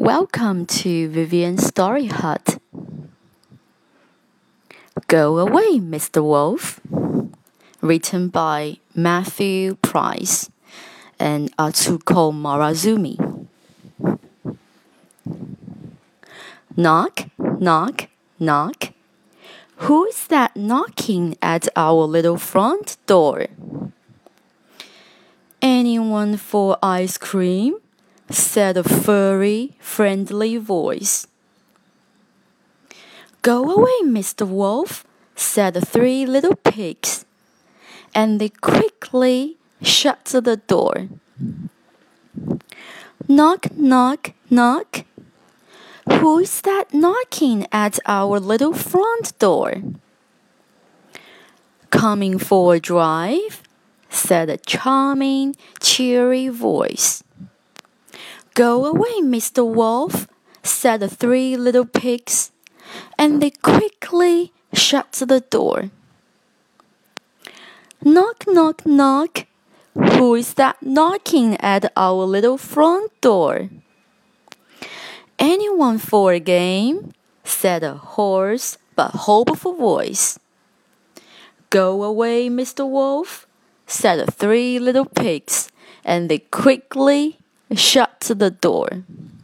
Welcome to Vivian's Story Hut. Go Away, Mr. Wolf. Written by Matthew Price and Atsuko Marazumi. Knock, knock, knock. Who's that knocking at our little front door? Anyone for ice cream? Said a furry, friendly voice. Go away, Mr. Wolf, said the three little pigs, and they quickly shut the door. Knock, knock, knock. Who's that knocking at our little front door? Coming for a drive? Said a charming, cheery voice. Go away, Mr. Wolf, said the three little pigs, and they quickly shut the door. Knock, knock, knock. Who is that knocking at our little front door? Anyone for a game? Said a hoarse but hopeful voice. Go away, Mr. Wolf, said the three little pigs, and they quickly shut the door.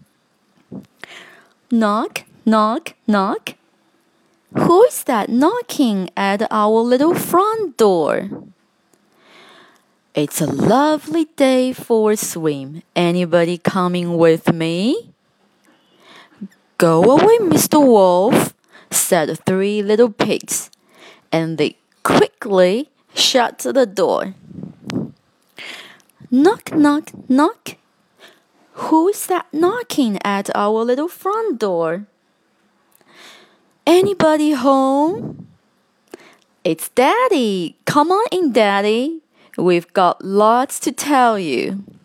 Knock, knock, knock. Who is that knocking at our little front door? It's a lovely day for a swim. Anybody coming with me? Go away, Mr. Wolf, said the three little pigs, and they quickly shut the door. Knock, knock, knock. Who's that knocking at our little front door? Anybody home? It's Daddy. Come on in, Daddy. We've got lots to tell you.